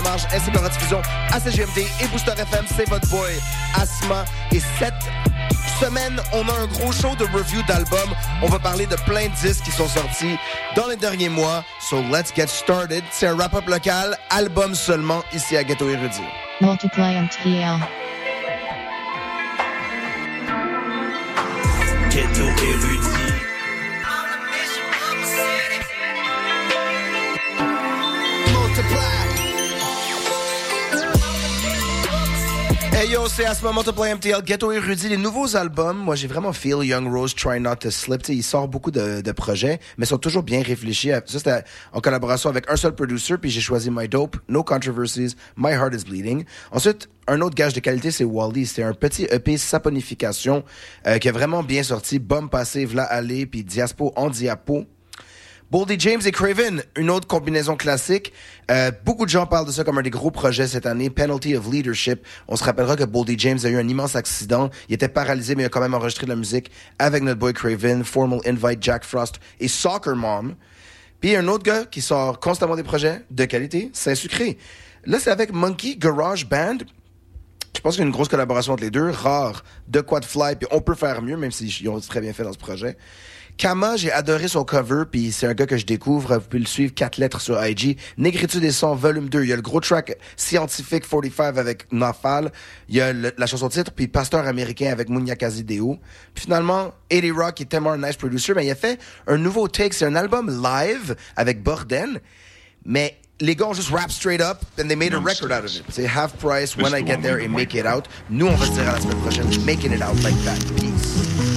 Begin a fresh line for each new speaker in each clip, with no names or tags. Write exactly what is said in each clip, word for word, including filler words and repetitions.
la marge, ainsi que la rediffusion à C G M D et Booster F M. C'est votre boy Asma. Et cette semaine, on a un gros show de review d'albums. On va parler de plein de disques qui sont sortis dans les derniers mois. So let's get started. C'est un wrap-up local, album seulement, ici à Ghetto Érudit.
Multiply M T L.
Ghetto Érudit.
Hey yo, c'est Asma Multiply M T L, Ghetto Érudit, les nouveaux albums. Moi, j'ai vraiment feel Young Rose, Try Not to Slip. T'sais, il sort beaucoup de, de projets, mais ils sont toujours bien réfléchis. Ça, c'était en collaboration avec un seul producer, puis j'ai choisi My Dope, No Controversies, My Heart is Bleeding. Ensuite, un autre gage de qualité, c'est Wally. C'est un petit E P saponification euh, qui est vraiment bien sorti. Bombe passée, v'là aller, puis Diaspo en diapo. Boldy James et Craven, une autre combinaison classique. Euh, beaucoup de gens parlent de ça comme un des gros projets cette année. Penalty of Leadership. On se rappellera que Boldy James a eu un immense accident. Il était paralysé, mais il a quand même enregistré de la musique avec notre boy Craven, Formal Invite, Jack Frost et Soccer Mom. Puis un autre gars qui sort constamment des projets de qualité, Saint-Sucré. Là, c'est avec Monkey Garage Band. Je pense qu'il y a une grosse collaboration entre les deux. Rare, de quoi de fly, puis on peut faire mieux, même s'ils ont très bien fait dans ce projet. Kama, j'ai adoré son cover, puis c'est un gars que je découvre. Vous pouvez le suivre, quatre lettres sur I G. Négritude des sons, volume deux. Il y a le gros track scientifique quarante-cinq avec Nafal. Il y a le, la chanson titre, puis Pasteur américain avec Munyakazi Deo. Puis finalement, eighty Rock, qui est tellement un nice producer, mais il a fait un nouveau take. C'est un album live avec Borden, mais les gars ont juste rap straight up and they made a record out of it. C'est Half Price, When I Get There et Make It Out. Nous, on va se dire à la semaine prochaine, Making It Out like that. Peace.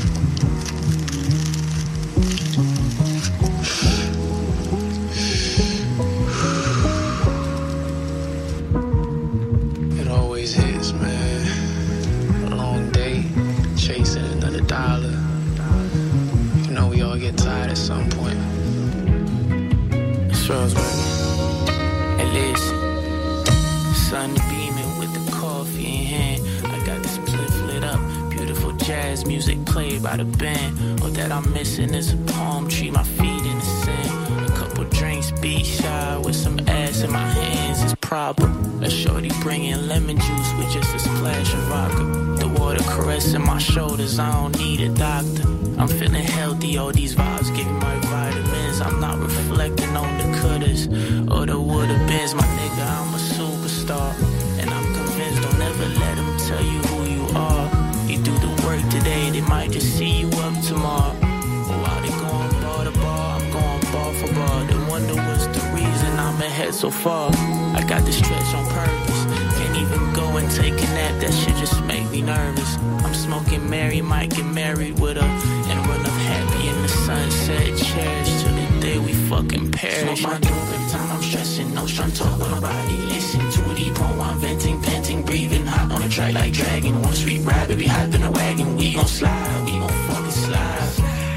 Get tired at some point. Strauss, at least sun beaming with the coffee in hand. I got this spliff lit up, beautiful jazz music played by the band. All that I'm missing is a palm tree, my feet in the sand. A couple drinks, be shy with some ass in my hands is proper. A shorty bringing lemon juice with just a splash of vodka. The water caressing my shoulders, I don't need a doctor. I'm feeling healthy, all these vibes give me my vitamins. I'm not reflecting on the cutters or the woulda beens. My nigga, I'm a superstar, and I'm convinced don't ever let them tell you who you are. You do the work today, they might just see you up tomorrow. While they going bar to bar, I'm going bar for bar. They wonder what's the reason I'm ahead so far. I got this stretch on purpose, can't even go and take a nap, that shit just make me nervous. I'm smoking Mary, might get married with her and run up happy in the sunset. Cherish till the day we fucking perish. Smoke my dope every time I'm stressing, no strung talk with nobody. Listen to a deep poem, I'm venting, panting, breathing hot on a track like dragon. One sweet ride, baby, hop in a wagon. We gon' slide, we gon' fucking slide.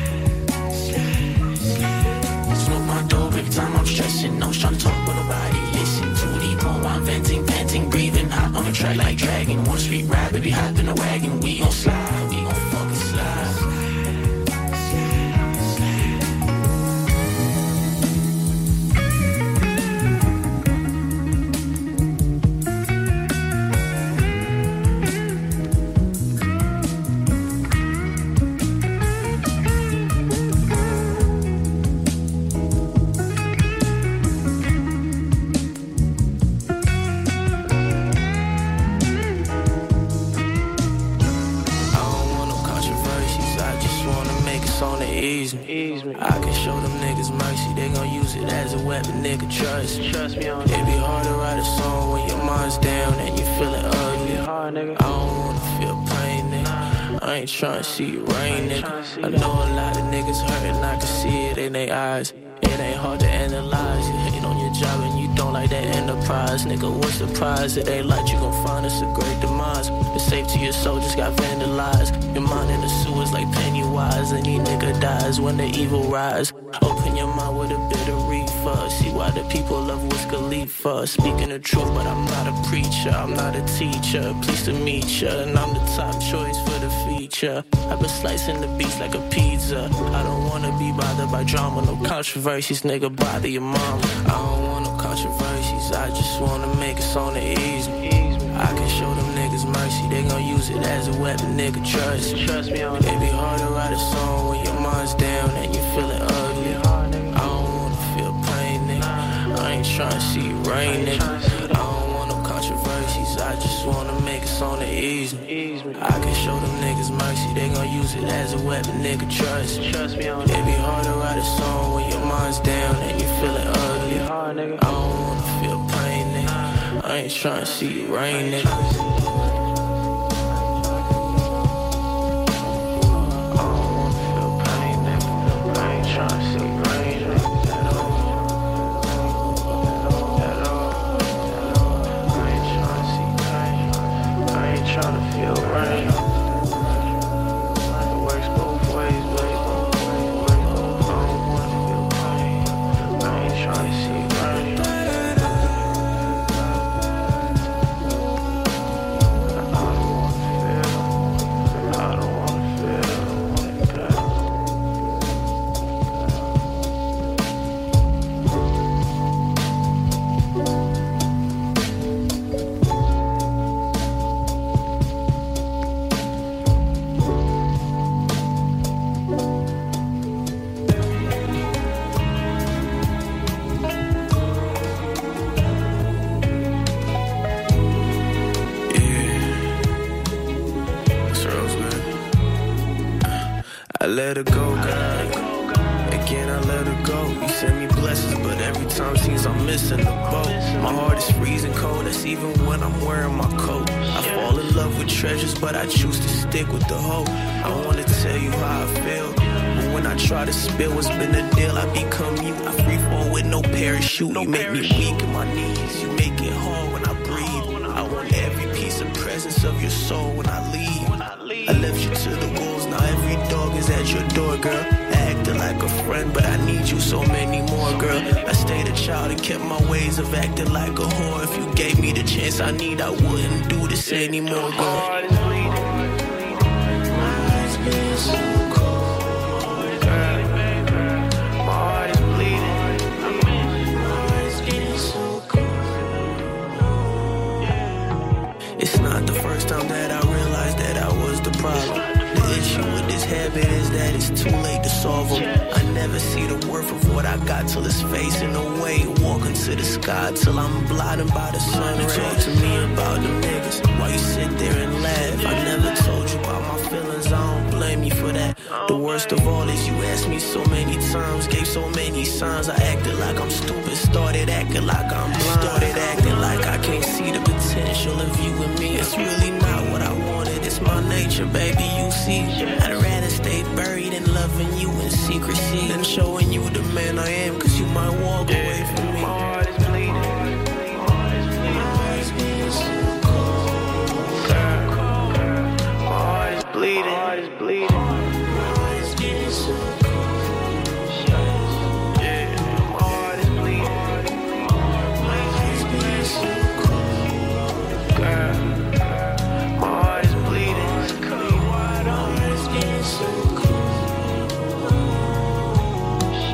Smoke my dope every time I'm stressing, no strung talk with nobody. Listen to a deep poem, I'm venting, panting, breathing hot on a track like dragon. One sweet ride, baby, hop in a wagon. We gon' slide, we gon' fucking slide. I can show them niggas mercy, they gon' use it as a weapon, nigga, trust me. Trust me on it. It be hard to write a song when your mind's down and you feeling ugly. Hard, nigga. I don't wanna feel pain, nigga. I ain't tryna see it rain, nigga. I know a lot of niggas hurting, I can see it in their eyes. It ain't hard to analyze. You hate on your job and you don't like that enterprise. Nigga, what's the prize? It ain't like you gon' find us a great demise. The safety of your soul just got vandalized. Your mind in the sewers like Pennywise. Any nigga dies when the evil rise. Open your mind with a bit of reefer. See why the people love Wiz Khalifa. Speaking the truth, but I'm not a preacher. I'm not a teacher. Pleased to meet ya. And I'm the top choice for the feature. I've been slicing the beats like a pizza. I don't wanna be bothered by drama, no controversies. Nigga, bother your mom. I don't want no controversies. I just wanna make it on the easy. I can show them niggas mercy, they gon' use it as a weapon, nigga, trust me. Trust me on it. It be hard to write a song when your mind's down and you feeling ugly. I don't wanna feel pain, nigga. I ain't tryna see it rain, nigga. I don't want no controversies, I just wanna make it on the easy. I can show them niggas mercy, they gon' use it as a weapon, nigga, trust me. Trust me on it. It be hard to write a song when your mind's down and you feeling ugly. I don't wanna feel pain, nigga. I ain't tryna see it rain, nigga. Let her go, God. Again, I let her go. You send me blessings, but every time seems I'm missing the boat. My heart is freezing cold, that's even when I'm wearing my coat. I fall in love with treasures, but I choose to stick with the hope. I wanna tell you how I feel, but when I try to spill what's been the deal, I become you. I free fall with no parachute. You make me weak in my knees, you make it hard when I breathe. I want every piece of presence of your soul when I leave. I left you to the wolves, now every dog is at your door, girl. I acted like a friend, but I need you so many more, girl. I stayed a child and kept my ways of acting like a whore. If you gave me the chance I need, I wouldn't do this anymore, girl. My heart is bleeding. My eyes getting so cold, girl. My heart is bleeding. My eyes getting so cold. It's not the first time that I realized that I was the problem. The issue with this habit is that it's too late to solve them. I never see the worth of what I got till it's facing away. Walking to the sky till I'm blinded by the sun. Talk to me about the niggas while you sit there and laugh. I never told you about my feelings, I don't blame you for that. The worst of all is you asked me so many times, gave so many signs. I acted like I'm stupid, started acting like I'm blind. Started acting like I can't see the potential of you and me. It's really not what I wanted, it's my nature, baby, you see. I'd rather stay buried in loving you in secrecy than showing you the man I am, cause you might walk away from me. My heart is bleeding. My eyes being so cold, girl. My heart is bleeding. My heart is bleeding. My eyes getting so cold. Yeah, my heart is bleeding. My eyes being so cold, girl. My heart is bleeding. My heart is getting so cold.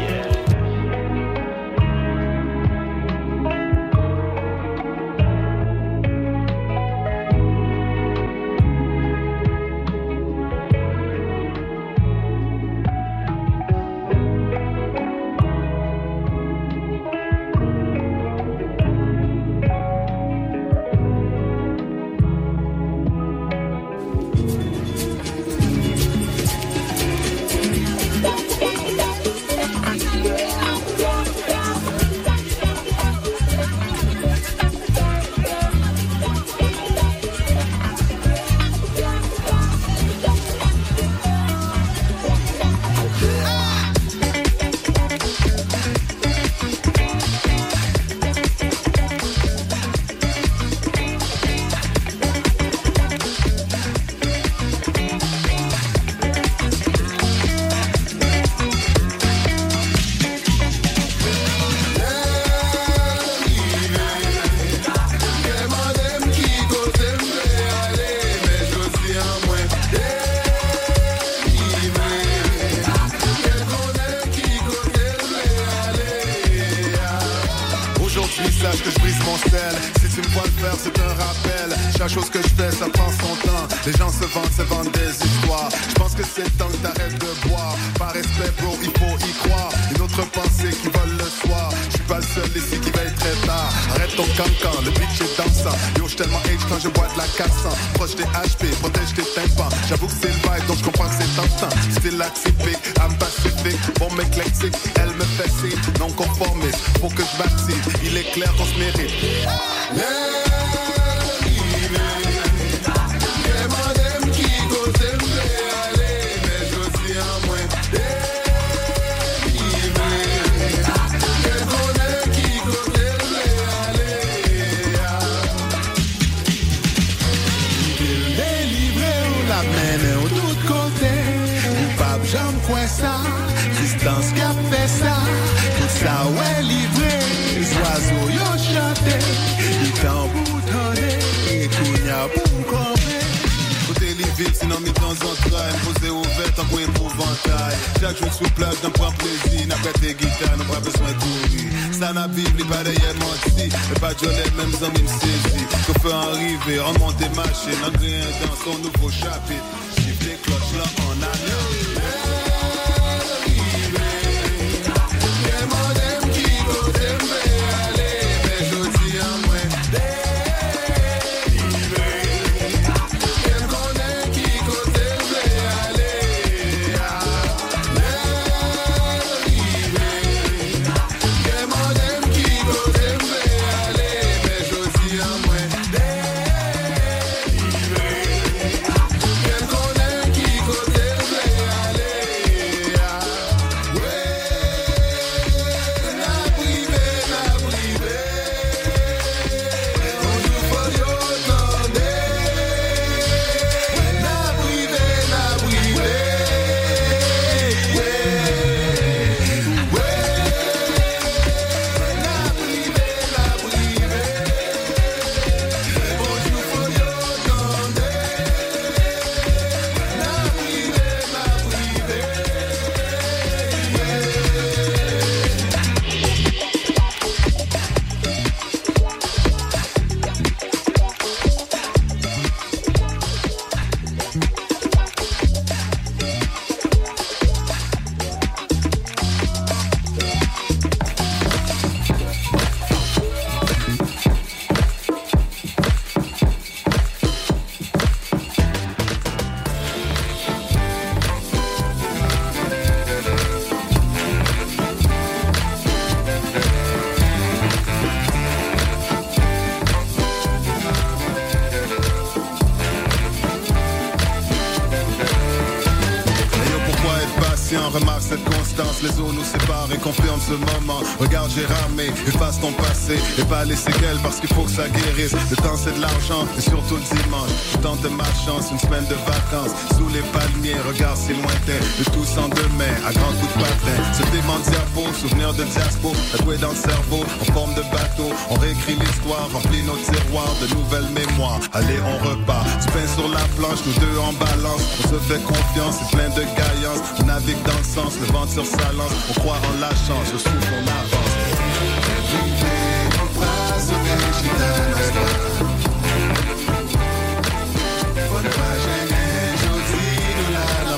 le faire, c'est un rappel. Chaque chose que je fais, ça prend son temps. Les gens se vendent, se vendent des histoires. Je pense que c'est temps que t'arrêtes de boire. Par respect, bro, il faut y croire. Une autre pensée qui vole le soir. Je suis pas le seul ici qui veille très tard. Arrête ton cancan, le bitch est dansant. Yo, j'suis tellement H quand je bois de la quatre cents. Proche des H P, protège tes tympans. J'avoue que c'est le vibe, donc je comprends que c'est tentant. Style atypique, âme pacifique, bombe éclectique. Elle me fait signe, non conformiste. Faut que je baptise, il est clair qu'on se mérite.
Ça, distance qui a fait ça, tout ça ouais livré, les oiseaux yo chanté, ils t'emboutonné, et kounya pour camper.
Côté les villes, sinon mis dans un crime, posé ouvert, tant qu'on épouvantail. Chaque jour sous plage, d'un point plaisir, n'a pas tes guitares, n'a pas besoin de courir. Ça n'a bible, les balayettes menti, et pas de jolet, même sans même saisi. Que fait arriver, on monte des machines, on rien dans son nouveau chapitre. Chiffre les cloches là en alliance. Remarque cette constance, les eaux nous séparent et confirme ce moment. Regarde, j'ai ramé, efface ton passé et pas les séquelles parce qu'il faut que ça guérisse. Le temps c'est de l'argent et surtout le dimanche. Je tente ma chance, une semaine de vacances sous les palmiers, regarde si lointain. Le tout sans demain, à grands coups de patin. Ce dément de diapo, souvenir de diaspo, tatoué dans le cerveau, en forme de bateau. On réécrit l'histoire, remplit nos tiroirs de nouvelles mémoires. Allez, on repart, du pain sur la planche, nous deux en balance. On se fait confiance, c'est plein de gaillance. On navigue dans le sens, le vent sur sa lance. On croit en la chance, je trouve qu'on avance.
On passe au végétal. Faut ne pas gêner, j'ose nous la la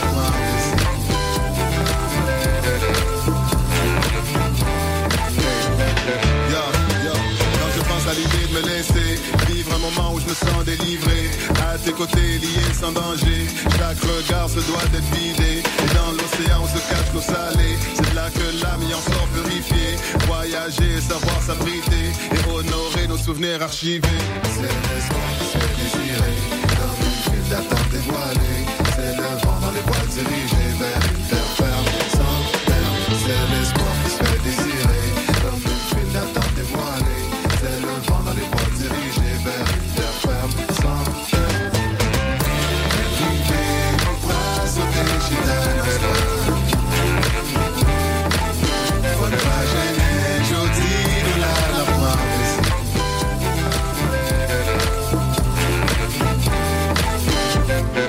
Yo, yo, quand je pense à l'idée de me laisser vivre un moment où je me sens délivré, à tes côtés liés sans danger, chaque regard se doit d'être vidé. Et dans l'océan on se cache l'eau salée, c'est là que l'âme y en sort purifiée. Voyager, savoir s'abriter et honorer nos souvenirs archivés.
C'est l'espoir qui se fait désirer, comme une file d'attente dévoilée. C'est le vent dans les voiles dirigés vers une terre ferme, sans terme. C'est l'espoir qui se fait désirer, comme une file d'attente dévoilée. C'est le vent dans les voiles dirigés vers une terre ferme, sans terme. Vivez nos bras sautés chez faut ne pas gêner, j'ose nous la la promise.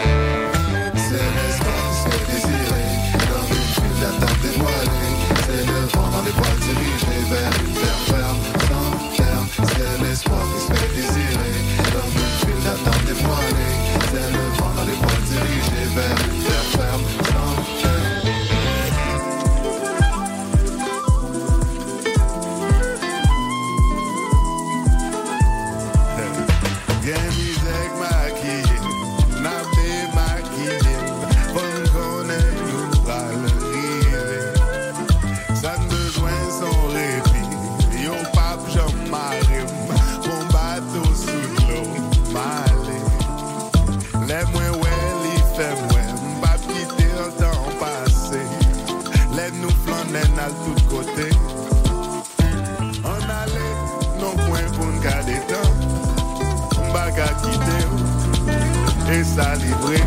C'est l'espoir qui se fait désirer, comme une file d'attente dévoilée. C'est le
et salivré.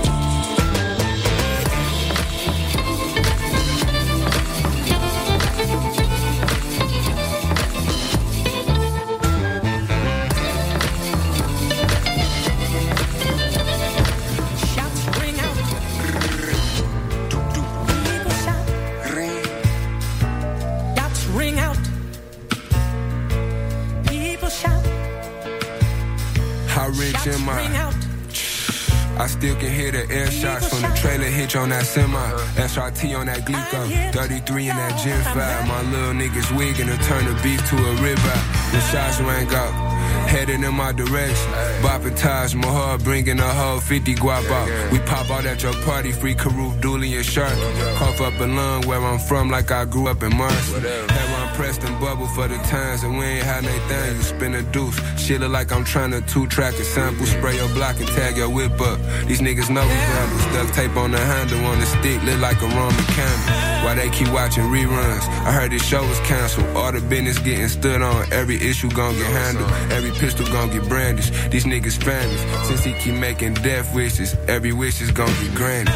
In my, I still can hear the air shots from the trailer hitch on that semi. S R T on that Glico, thirty-three in that Gen five. My little niggas wiggin' to turn the beef to a ribeye. The shots rang out, heading in my direction. Bopping Taj Mahal, bringing a whole fifty guap out. We pop out at your party, free Karoof, Dooley, and Shark. Cough up a lung where I'm from, like I grew up in Marcy. Had one pressed and bubble for the times, and we ain't had anything. You spin a deuce. Shit look like I'm trying to two-track a sample. Spray your block and tag your whip up. These niggas know we vandals. Duct tape on the handle, on the stick, lit like a Roman candle. Why they keep watching reruns? I heard this show was canceled. All the business getting stood on. Every issue gon' get handled. Every pistol gon' get brandished. These niggas famous. Since he keep making death wishes, every wish is gon' get granted.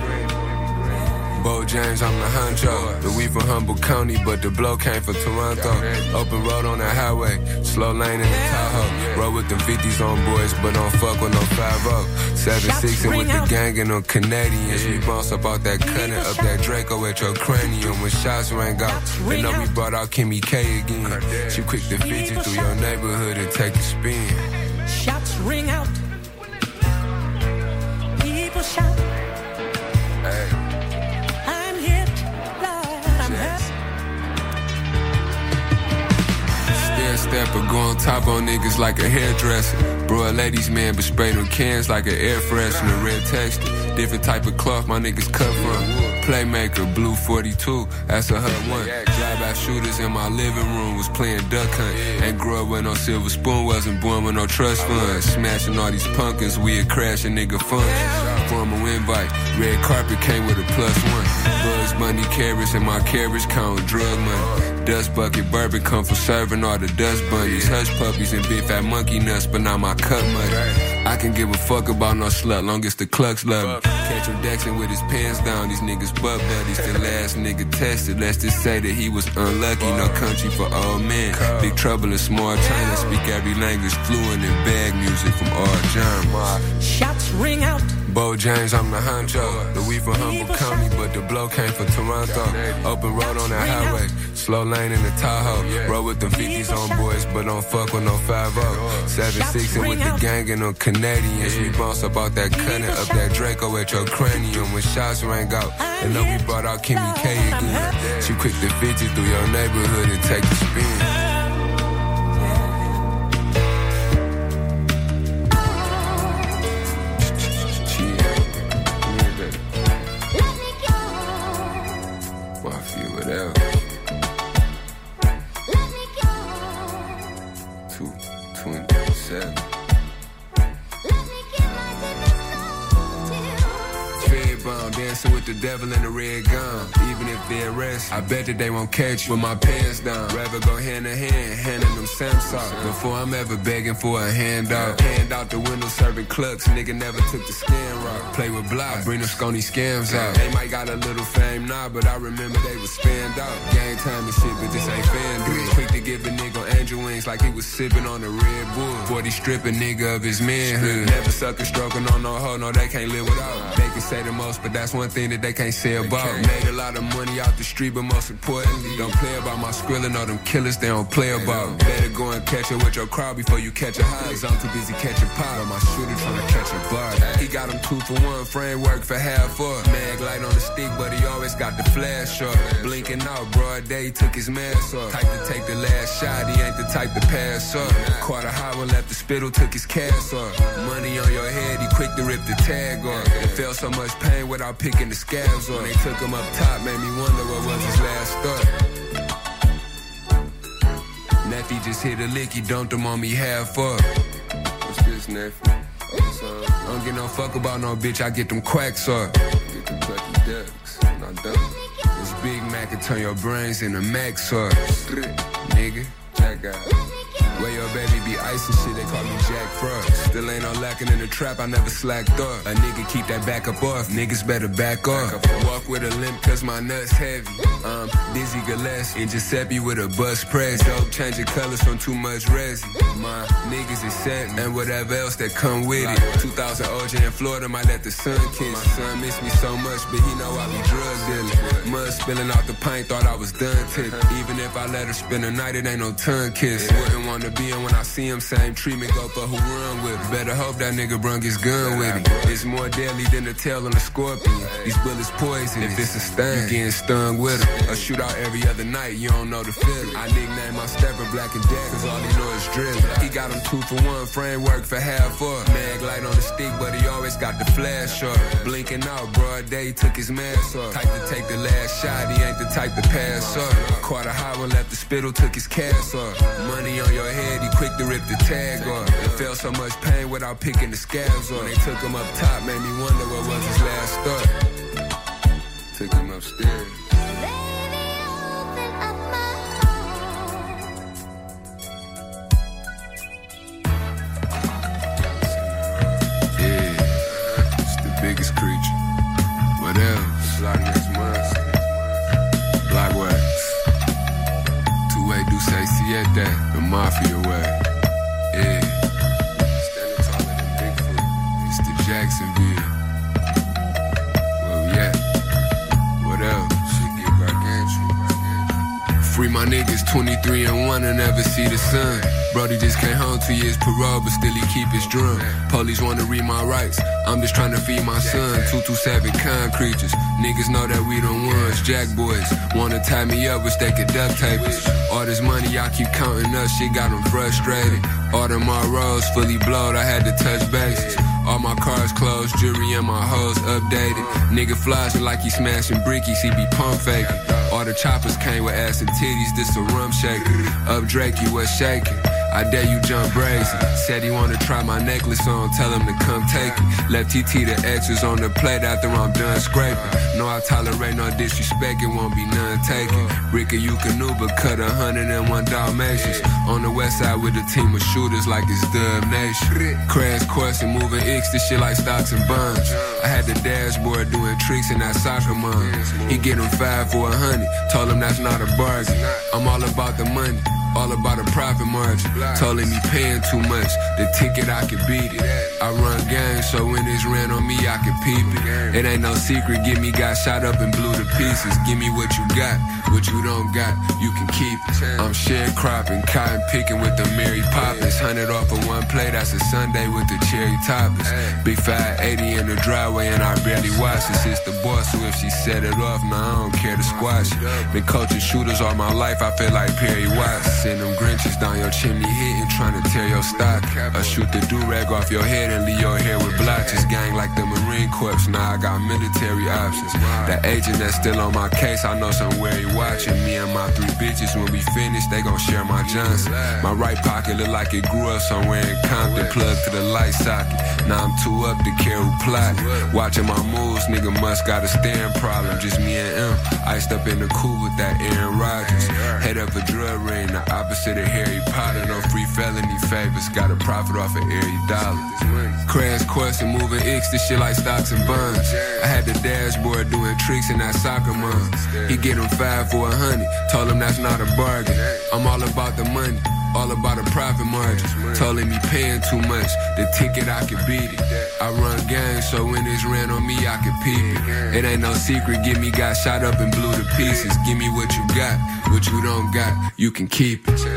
Bo James, I'm the honcho. The we from Humboldt County, but the blow came from Toronto. Open road on the highway, slow lane in the Tahoe. Roll with them fifties on boys, but don't fuck with no five oh. seven six and with the gang and them Canadians. We bounce up out that cutting, up that Draco at your cranium. When shots rang out, they know we brought out Kimmy K again. She quick to fifty through your neighborhood and take a spin.
Shots ring out. People shout.
Hey. Stepper, go on top on niggas like a hairdresser. Bro, a ladies man, but spray them cans like an air freshener. Red texture, different type of cloth my niggas cut from. Playmaker, blue forty-two, that's a hut one. Drive-by shooters in my living room, was playing duck hunt. Ain't grew up with no silver spoon, wasn't born with no trust funds. Smashing all these pumpkins, we a crashing nigga funds. Formal invite, red carpet came with a plus one. Bugs Bunny carrots in my carriage count drug money. Dust bucket bourbon come from serving all the dust bunnies. Hush puppies and big fat monkey nuts, but not my cut money. I can give a fuck about no slut, long as the clucks love me. Catch him Dexing with his pants down, these niggas butt buddies. The last nigga tested, let's just say that he was unlucky. No country for old men. Big trouble in small China, speak every language fluent in bag music from all genres.
Shots ring out.
Bo James, I'm the honcho. The we from Humboldt County, but the blow came from Toronto. Open road on that highway, slow lane in the Tahoe. Roll with them fifties on boys, but don't fuck with no five oh. seven six and with the gang and them Canadians. We bounce up out that cutting, up that Draco at your cranium. When shots rang out, and know we brought out Kimmy K again. She quick to fifty through your neighborhood and take a spin. With the devil in the red gun, even if they arrest, I bet that they won't catch you with my pants down. Rather go hand in hand, handing them Samsung before I'm ever begging for a handout. Hand out the window serving clucks, nigga never took the scan route. Play with block, bring them scony scams out. They might got a little fame now, but I remember they was spanned out. Gang time and shit, but this ain't fan dude. Quick to give a nigga angel wings like he was sipping on the Red Bull. forty stripping nigga of his manhood. Never sucker stroking on no hoe, no they can't live without. They can say the most, but that's one thing that they can't say about. Made a lot of money out the street, but most importantly, don't play about my skrillin' or them killers they don't play about. Better go and catch it with your crowd before you catch a high. Cause I'm too busy catching pie, my shooter trying to catch a bar. He got him two for one, framework for half up. Mag light on the stick, but he always got the flash up. Blinking out, broad day, took his mask off. Type to take the last shot, he ain't the type to pass up. Caught a high one, left the spittle, took his cast off. Money on your head, he quick to rip the tag off. It felt so much pain without picking the scabs off. They took him up top, made me wonder what was his last thought. Neffy just hit a lick, he dumped him on me half up. What's this, Neffy? I don't get no fuck about no bitch, I get them quacks up. Get them plucky ducks, no dumb. This Big Mac can turn your brains into Mac sauce. Nigga, check out. Where your baby be ice and shit, they call me Jack Frost. Still ain't no lacking in the trap, I never slacked off. A nigga keep that back up off, niggas better back off. Walk with a limp cause my nuts heavy. Um, Dizzy Gillespie and Giuseppe with a bus press. Dope changing colors from too much resin. My niggas is set and whatever else that come with it. two thousand O J in Florida might let the sun kiss. My son miss me so much, but he know I be drug dealing. Mud spilling off the pint, thought I was done tipping. Even if I let her spend a night, it ain't no tongue kiss. Wouldn't wanna be in when I see him, same treatment, go for who run with it. Better hope that nigga brung his gun with it. It's more deadly than the tail on a scorpion. These bullets poison, if it's a stung, you getting stung with it. A shootout every other night, you don't know the feeling. I nickname my stepper Black and Dead, cause all he know is drill. He got him two for one, framework for half off. Mag light on the stick, but he always got the flash off. Blinking out, broad day, took his mask off. Type to take the last shot, he ain't the type to pass off. Caught a high one, left the spittle, took his cast off. Money on your head, he quick to rip the tag off. Felt so much pain without picking the scabs off. They took him up top, made me wonder what was his last thought. Took him upstairs. Biggest creature. What else? Block next month. Block wax. Two-way do say siete. The mafia way. Yeah. Standing taller than Bigfoot. It's the Jacksonville. Where we at? What else? Shit get gargantuan. Free my niggas twenty-three and one and never see the sun. Brody just came home two years parole, but still he keep his drum. Police wanna read my rights, I'm just trying to feed my son. two two seven kind creatures, niggas know that we the ones. Jack boys wanna tie me up, wish they could duct tape us. All this money I keep counting up, shit got them frustrated. All them rolls fully blowed, I had to touch bases. All my cars closed, jewelry and my hoes updated. Nigga flashing like he smashing brickies, he be pump faking. All the choppers came with ass and titties, this a rum shaker. Up Drake, you was shaking. I dare you jump brazen. Said he wanna try my necklace on, tell him to come take it. Left T T the X's on the plate after I'm done scraping. No, I tolerate no disrespect, it won't be none taken. Ricka, you canoe, but cut a hundred and one Dalmatians. On the west side with a team of shooters like it's Dub Nation. Crash course and moving X, this shit like stocks and bonds. I had the dashboard doing tricks in that soccer mom. He get him five for a hundred, told him that's not a bargain. I'm all about the money. All about a profit margin. Told him he paying too much. The ticket, I could beat it. I run games, so when it's ran on me, I could peep it. It ain't no secret, give me got shot up and blew to pieces. Give me what you got, what you don't got, you can keep it. I'm sharecropping, cotton picking with the Mary Poppins. Hundred off of one plate, that's a Sunday with the cherry toppings. Big five eighty in the driveway and I barely watch this. It's the boss, so if she set it off, nah, I don't care to squash it. Been coaching shooters all my life, I feel like Perry Watson. Send them Grinches down your chimney hitting, trying to tear your stock. I shoot the do-rag off your head and leave your hair with blotches. Gang like the Marine Corps, now I got military options. The agent that's still on my case, I know somewhere he watching. Me and my three bitches, when we finish, they gon' share my Johnson. My right pocket look like it grew up somewhere in Compton. Plugged to the light socket, now I'm too up to care who plot. Watching my moves, nigga must got a staring problem. Just me and him, iced up in the coupe with that Aaron Rodgers. Head up a drug ring, the opposite of Harry Potter. No free felony favors, got a profit off of every dollar. Crash course and moving X, this shit like stocks and bonds. I had the dashboard doing tricks in that soccer mom. He get him five for a hundred, told him that's not a bargain. I'm all about the money, all about a profit margin. Told him he paying too much, the ticket I could beat it. I run games, so when it's ran on me, I could peep it. It ain't no secret, give me got shot up and blew to pieces. Give me what you got, what you don't got, you can keep it.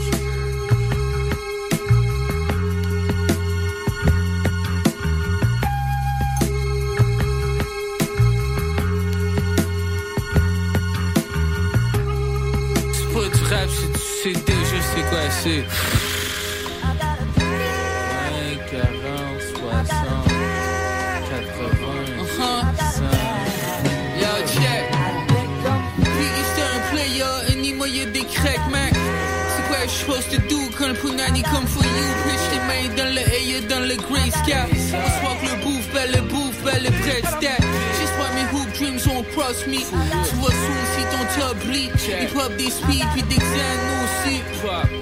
C'est déjà, c'est quoi, c'est vingt, quarante, soixante, quatre-vingts, cent. Yo, check. Puis c'est un player, and il y a des cracks, man. C'est quoi je supposed to do quand le punani come for you? Pitch les mains dans le air, dans le grey sky. On swap le bouffe, ben le bouffe, ben le bread stack. Just why mes hoop dreams won't cross me. Tu vois sous si ton top bleed. Hip hop des speed, puis des xanos aussi.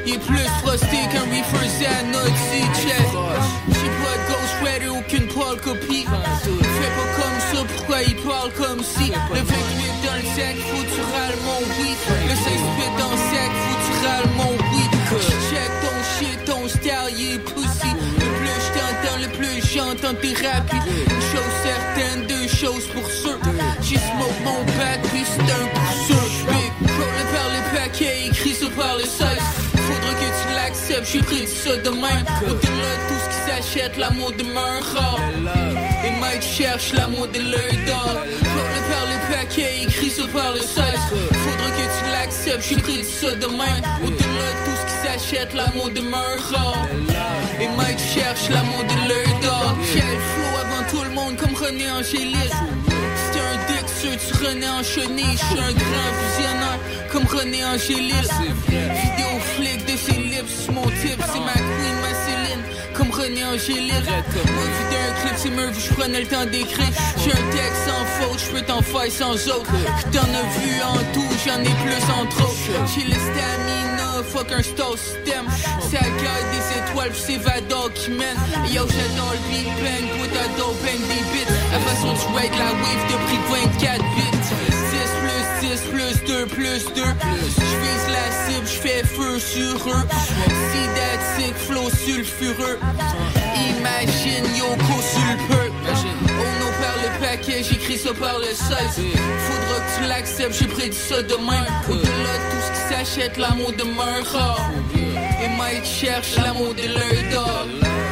Il est plus frosté qu'un reefer Zanotti, check. J'ai pas de ghostwriter, aucune pâle copie. Fais pas comme ça, pourquoi il parle comme si? Le vingt-huit dans le sac, faut tu râles mon oui. Le seize-huit dans le sac, faut tu râles mon oui. Check ton shit, ton style, il est pussy. Le plus je t'entends, le plus j'entends tes rapides. Une chose certaine, deux choses pour sûr. J'ai smoke mon bac, puis c'est un coup sûr. Big, roll par le paquet, écrit ça par le seize. Faudra que tu l'acceptes, j'ai pris ça de même. Au-delà de tout ce qui s'achète, l'amour demeure rare. Et Mike cherche l'amour de l'œil d'or. Roll par le paquet, écrit ça par le seize. Faudra que tu l'acceptes, j'ai pris ça de même. Au-delà de tout ce qui s'achète, l'amour demeure rare. Et Mike cherche l'amour de l'œil d'or. Quel flow avant tout le monde comme René Angélil. C'est un dick sûr, tu René en chenille. J'suis un grand visionnaire comme René Angélil. Vidéo flic de ses lips, mon type, c'est ma queen, ma Céline. Comme René Angélil. Moi, vidéo un clip, c'est Murphy, j'prenais le temps d'écrire. J'ai un texte sans faute, j'peux t'en faire sans autre. T'en as vu en tout, j'en ai plus en trop. J'ai le stamina, fuck un star system. C'est la gueule des étoiles, pis c'est Vador qui mène. Et yo, j'adore le Big Bang, toi t'adores bang des bits. La façon de jouer de la wave de prix de vingt-quatre bits. six plus dix plus deux plus deux. J'vise la cible, j'fais feu sur eux. See that sick flow sulfureux. Imagine Yoko sur le peu. Oh non, par le paquet, j'écris ça par le seize. Faudra que tu l'acceptes, j'ai prédit ça demain. Au-delà de tout ce qui s'achète, l'amour demeure rare. Et Mike cherche l'amour de l'œil d'or.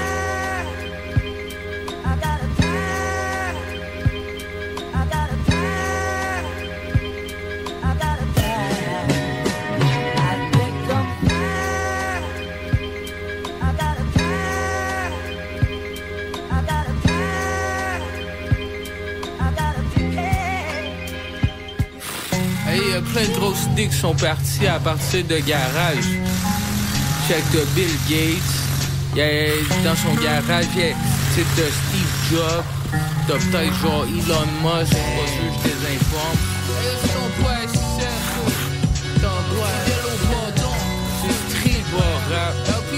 Il y a plein de grosses idées qui sont parties à partir de garage. Check de Bill Gates. Il y a dans son garage, il y a t'as Steve Jobs. T'as peut-être genre Elon Musk. Je suis pas sûr, je désinforme. Ils sont pas assez. T'en vois. C'est très bas rap.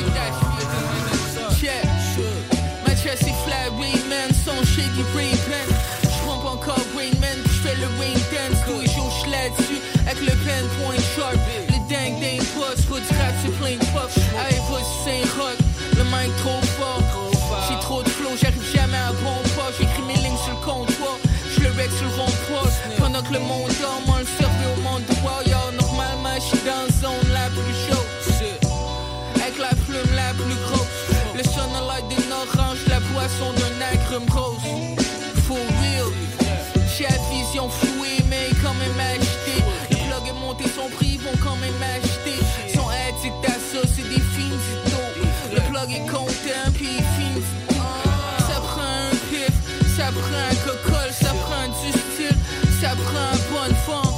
Check. Ma chest est flat, Rayman. Son shady Ray-Ban. J'trompe encore Rainman. J'fais le rain dance. Tous les jours j'suis là-dessus. Avec le pen point sharp. Le dang dang post. Faut du rap, c'est plein de puff. Allez, pas du Saint-Roch. Le mic trop fort. J'ai trop de flow, j'arrive jamais à bon pas. J'écris mes lignes sur le comptoir. J'le rec sur le rond-point. Pendant que le monde dort, moi le survie au monde droit. Yo, normalement j'suis dans la zone la plus chaude. Avec la plume la plus grosse. Le sonolite d'une orange, la boisson d'un agrume rose. For real. J'ai la vision flouée, mais quand même acheté. Le blog est monté, son prix, vont quand même acheter. Son addict à ça, c'est des films du dos. Le blog est content, puis il finit. Ça prend un pif, ça prend un cocol, ça prend du style, ça prend un bonne forme.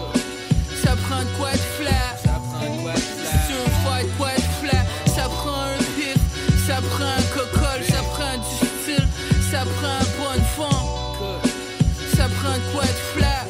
Ça prend de quoi de flat. C'est un fight, quoi de flat. Ça prend un pif, ça prend un cocol, ça prend du style, ça prend un bonne forme. Ça prend de quoi de flat.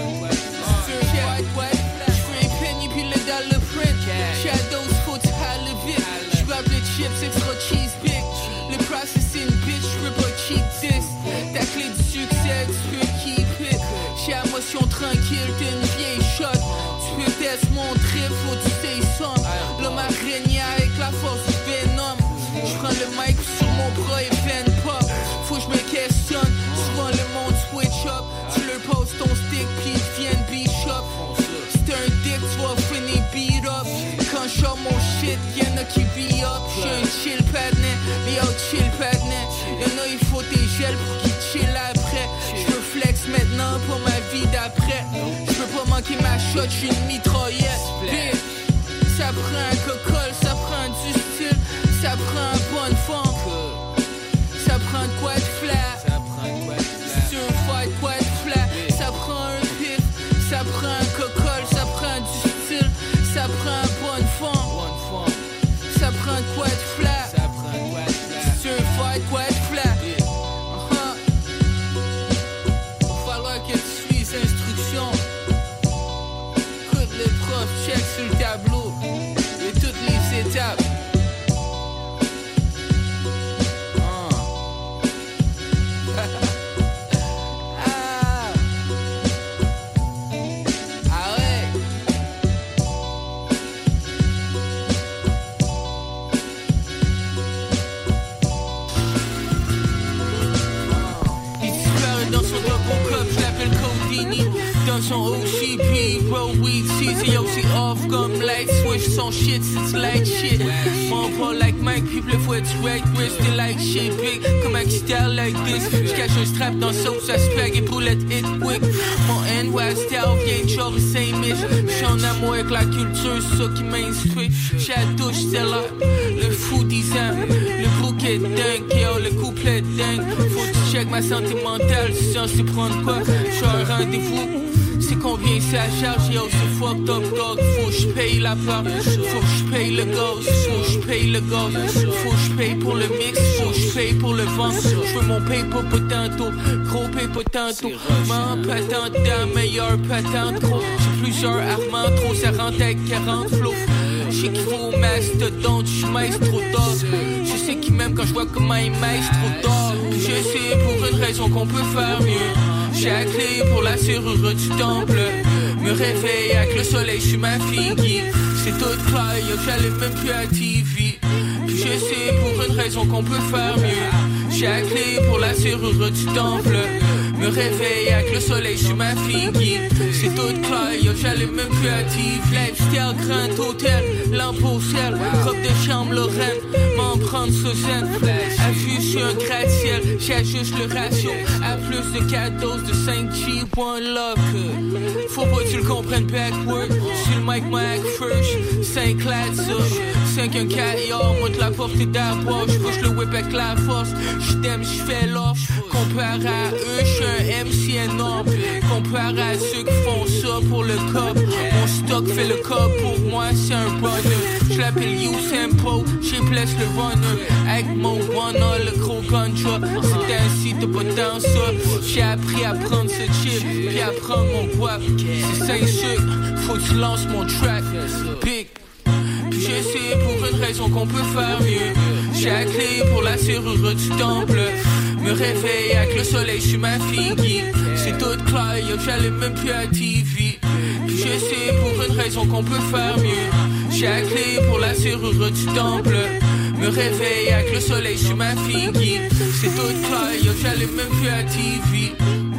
C'est un fight, quoi de flat. J'fais un penny, puis le dollar print. Shadows, faut tu halle vite. J'grab le chips, extra cheese big. Le process c'est une bitch, j'peux pas cheat this. Ta clé du succès, tu peux keep it. J'ai la motion tranquille, t'es une vieille shot. Tu peux tester mon trip, faut tu say some. L'homme araignée avec la force du venom. J'prends le mic sur mon bras et veine pop. Faut que j'me questionne, souvent le monde switch up. Tu leur poses ton stick pis ils viennent bishop. C'est un dick, tu vas finir beat up. Quand j'sors mon shit, y'en a qui be up. J'suis un chill padnet, mais yo chill padnet. Y'en a il faut tes gels pour qu'ils chill après. J'veux flex maintenant pour ma vie d'après. J'peux pas manquer ma shot, j'suis une mitraillette. Bitch. Ça prend un cocol, ça prend du style, ça prend un bonne forme. Ça prend de quoi de flat. C'est un fight, quoi de flat. Ça prend un pif, ça prend un cocol, ça prend du style, ça prend un bonne forme. Ça prend de quoi de flat. C'est un fight, quoi de flat. Uh-huh. Va falloir que tu suis les instructions. Écoute les profs, check sur le tableau. Et toutes les dans son O C P, bro, weed season, yo, c'est off comme light switch, son shit, c'est light shit. Mon pas like Mike, people faut être right, twist, they like shit big, comme un style like this. J'cache un strap dans sauce à spag et boulette hit quick. Mon N Y style vient de genre Saint-Mich. J'suis en amour avec la culture, c'est ça qui m'instruit. J'suis à douche, c'est là, le fou dix ans, le bouquet dingue, yo, le couplet dingue. Faut que tu check ma santé mentale, si j'en sais prendre quoi. J'suis un rendez-vous. C'est combien c'est à charge, yo, c'est fucked up dog. Faut que j'paye la part, faut que j'paye le gaz, faut que j'paye le gaz, faut que j'paye pour le mix, faut que j'paye pour le vent. J'veux mon paye pas pas tantôt, gros paye pas tantôt. M'en patente d'un meilleur patente, gros. J'ai plusieurs armants, trop ça rentre avec quarante flots. J'sais qu'il faut mastodonte, j'maïs trop tard. Je sais qu'il m'aime quand j'vois comment il maïs trop tard. Je sais pour une raison qu'on peut faire mieux. J'ai la clé pour la serrure du temple. Me réveille avec le soleil sur ma fille. C'est tout clair, yo, j'allume même plus à T V. Puis je sais pour une raison qu'on peut faire mieux. J'ai la clé pour la serrure du temple. Me réveille avec le soleil sur ma fille. C'est tout clair, yo, j'allume même plus à T V. Lifestyle, grand hôtel, lampe au ciel, robe de chambre Lorraine, m'en prendre sous zen. À vue sur un gratte-ciel, j'ajuste le ratio à plus de quatre doses de cinq G, one lock. Faut pas que tu le comprennes backward. Sur le mic, my act first. cinq lads, cinq un quatre, yo, monte la portée d'arbois. J'push le whip avec la force. J't'aime, j'fais l'offre. Comparé à eux, j'suis un M C énorme. Comparé à ceux qui font ça pour le cop. Mon stock fait le cop, pour moi c'est un runner. J'l'appelle U-Tempo, j'ai blesse le runner. Avec mon one le gros gunshot. C'est ainsi, t'as pas dans ça. J'ai appris à prendre ce chip, puis à prendre mon guap. C'est cinq sucres, faut que tu lances mon track. Big. Puis je sais pour une raison qu'on peut faire mieux. J'ai la clé pour la serrure du temple. Me réveille avec le soleil sur ma fille. C'est tout clair, yo, j'allume même plus à T V. Puis je sais pour une raison qu'on peut faire mieux. J'ai la clé pour la serrure du temple. Me réveille avec le soleil sur ma fille. C'est tout clair, yo, j'allume même plus à T V.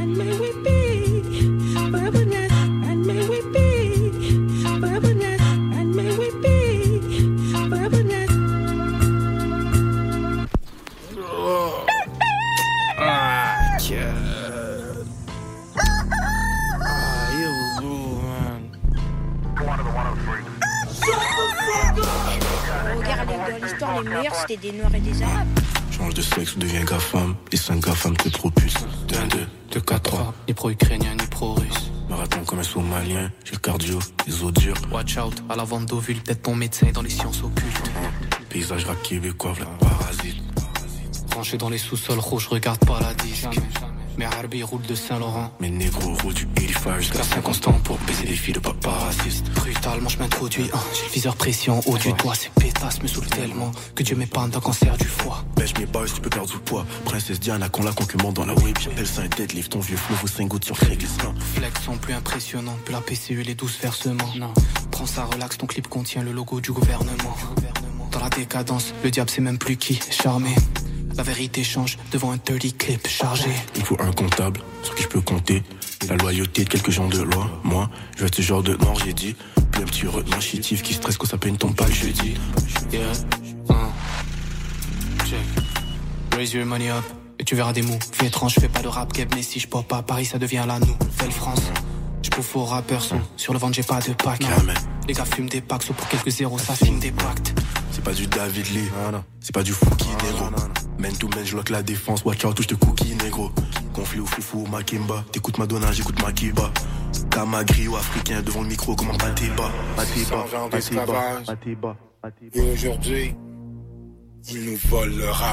Les meilleurs c'était des noirs et des arabes.
Change de sexe ou deviens gars-femme. Les cinq gars-femmes te propulsent. deux un deux, deux quatre trois.
Ni pro-ukrainien, ni pro-russe.
Marathon comme un somalien. J'ai le cardio, les os durs.
Watch out, à la vente d'ovules, peut-être ton médecin dans les sciences occultes.
Paysage rap québécois, v'là parasite.
Branché dans les sous-sols rouges, regarde pas la disque. Mais Harbi roule de Saint-Laurent.
Mes négros roulent du eighty-five jusqu'à Saint-Constant pour baiser des filles de papa raciste.
Brutalement je m'introduis, hein, j'ai le viseur précis en haut du toit. Ces pétasses me saoulent tellement que Dieu m'épargne d'un cancer du foie.
Pêche mes boys, tu peux perdre du poids. Princesse Diana qu'on la concurrente dans la whip. J'appelle ça un deadlift, ton vieux flou vaut cinq gouttes sur Craigslist.
Flex sont plus impressionnants, plus la P C U et les douze versements. Non, prends ça, relax, ton clip contient le logo du gouvernement. Dans la décadence, le diable sait même plus qui charmer. La vérité change devant un dirty clip chargé.
Il faut un comptable sur qui je peux compter. La loyauté de quelques gens de loi. Moi, je vais être ce genre de noir, j'ai dit. Puis un petit retenant chétif qui stresse quand ça peine tombe pas le jeudi.
Yeah, uh. Check. Raise your money up et tu verras des mots. Fais étrange, je fais pas de rap game, mais si je pop à Paris, ça devient la nouvelle France. Je bouffe aux rappeurs, son sur le ventre, j'ai pas de pack. Les gars fument des packs, sauf pour quelques zéros, ça filme des pactes.
C'est pas du David Lee, c'est pas du Fouki, négro. Man to man, je lock la défense, watch out, touche de cookie, négro. Conflit ou foufou, Makimba, t'écoutes Madonna, j'écoute Makiba. Kamagri ou africain devant le micro, comment Matiba, Matiba, Matiba, Matiba.
Et aujourd'hui, ils nous volent le rap.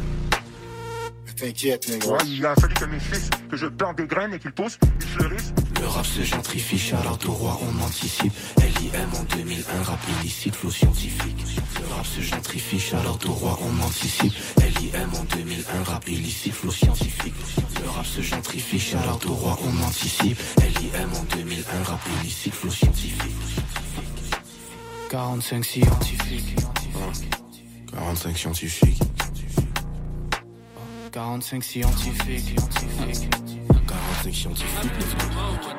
T'inquiète, négro.
Ouais, il a fallu que mes fils, que je plante des graines et qu'ils poussent, ils fleurissent.
Le rap se gentrifie, shout-out au roi, on anticipe. L I M en deux mille un, rap illicite, flow scientifique. Le rap se gentrifie, shout-out au roi, on anticipe. L I M en deux mille un, rap illicite, flow scientifique. Le rap se gentrifie, shout-out au roi, on anticipe. L I M en deux mille un, rap illicite, flow scientifique.
quarante-cinq scientifiques.
quarante-cinq scientifiques.
quarante-cinq scientifiques.
quarante-cinq scientifiques, let's go.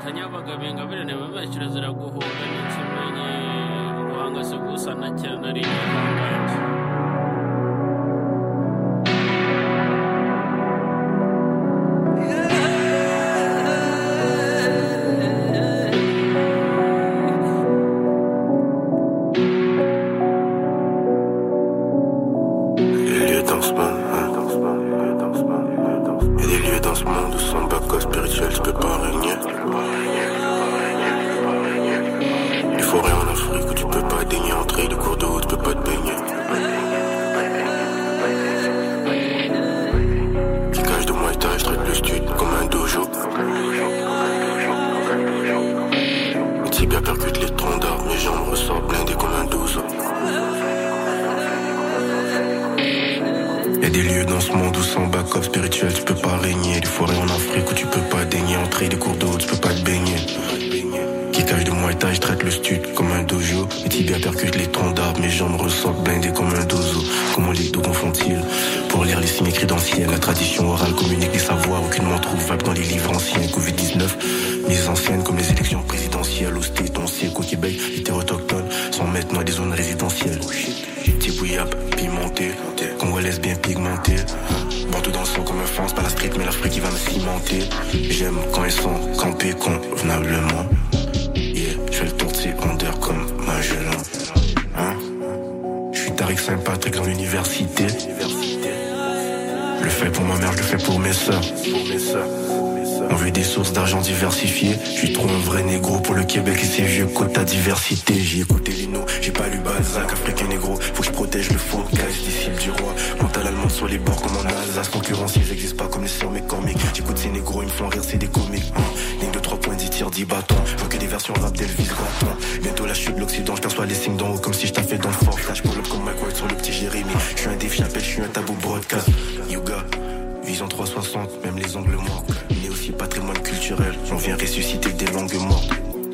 Diversifié, je suis trop un vrai négro pour le Québec et ses vieux quotas diversité. J'ai écouté les noms, j'ai pas lu Balzac, africain négro. Faut que je protège le focage, disciple du roi. Mental allemand sur les bords comme en Alsace. Concurrence, ils existent pas comme les sœurs mes comiques. J'écoute ces négros, ils me font rire, c'est des comiques. Hein. Ligne de trois points, dix tirs, dix bâtons. Je vois que des versions rap d'Elvis Gratton. Bientôt la chute de l'Occident, je perçois les signes d'en haut comme si je t'avais dans le fort. Flash pull up comme Mike White sur le petit Jérémy. Je suis un Dave Chappelle, je suis un tabou broadcast. Yuga, vision trois cent soixante, même les angles morts. Mais aussi patrimoine culturel, on vient ressusciter des langues mortes.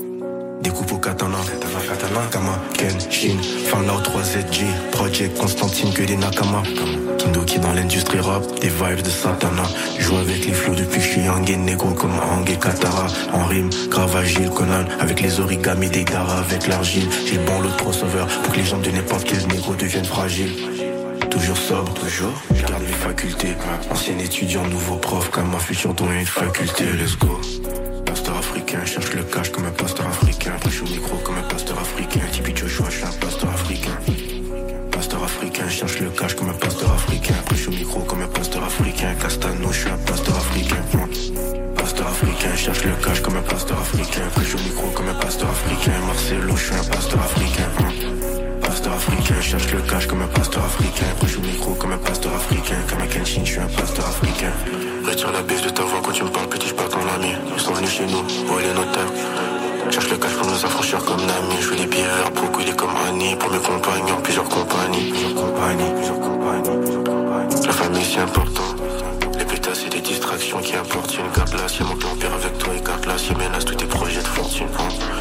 Découpe au katana, Kama, Ken, Shin, Fan Lao trois Z G, Project Constantine, que des Nakama. Kindo qui dans l'industrie rap, des vibes de Satana. Joue avec les flots depuis que je suis Yang et négro comme Hang et Katara. En rime, grave agile, Conan, avec les origamis des Dara, avec l'argile. J'ai le bon lot de crossover pour que les jambes de n'importe quel négro deviennent fragiles. Toujours sobre, toujours, je garde mes facultés. Ancien étudiant, nouveau prof, comme ma future dont une faculté, let's go. Pasteur africain, cherche le cash comme un pasteur africain. Après je suis au micro comme un pasteur africain. Tipeee Joshua, je suis un pasteur africain. Pasteur africain, cherche le cash comme un pasteur africain. Après je suis au micro comme un pasteur africain. Castano, je suis un pasteur africain. Pasteur africain, cherche le cash comme un pasteur africain. Après je suis au micro comme un pasteur africain. Marcelo, je suis un pasteur africain. Pasteur africain, cherche le cash comme un pasteur africain. Après je suis au micro comme un pasteur africain. Comme un Kenshin, je suis un pasteur africain. Retire la baisse de ta voix quand tu me parles, petit, je parle ton ami. Ils sont venus chez nous, voler nos tables. Cherche le cash pour nous affranchir comme Nami. Je fais des billets verts pour couler comme Annie. Pour mes compagnons, plusieurs compagnies. Plusieurs compagnies, plusieurs compagnies. La famille c'est important. Les pétasses c'est des distractions qui apportent une cape là. Si mon père avec toi écarte là. Si menace tous tes projets de fortune.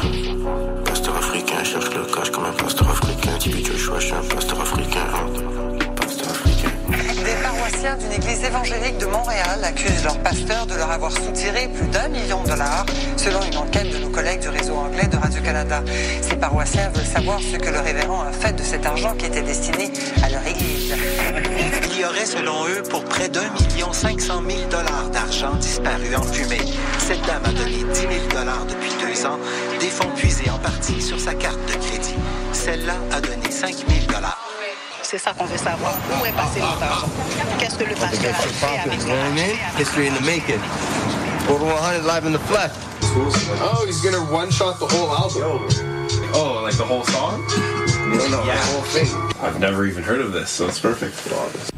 Pasteur africain, cherche le cash comme un pasteur africain. Tipeee Joshua, je suis un pasteur africain. Pasteur africain.
Des paroissiens d'une église évangélique de Montréal accusent leur pasteur de leur avoir soutiré plus d'un million de dollars, selon une enquête de nos collègues du réseau anglais de Radio-Canada. Ces paroissiens veulent savoir ce que le révérend a fait de cet argent qui était destiné à leur église.
Il y aurait, selon eux, pour près d'un million cinq cent mille dollars d'argent disparu en fumée. Cette dame a donné dix mille dollars depuis deux ans, des fonds puisés en partie sur sa carte de crédit. Celle-là a donné cinq mille dollars.
C'est ça qu'on veut savoir. Où est passé notre argent? Qu'est-ce que le pasteur a fait avec notre argent?
History in the making. Over one hundred live in the flesh.
Oh, he's gonna one-shot the whole album.
Oh, like the whole song?
No, no,
yeah.
the whole thing.
I've never even heard of this, so it's perfect.
First,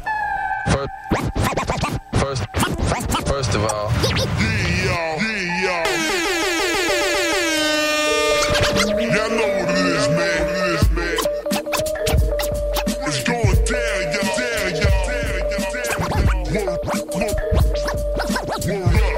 first, first of all.
Y'all know what it is, man. It's going down, y'all. Down, y'all. Word, word, word up.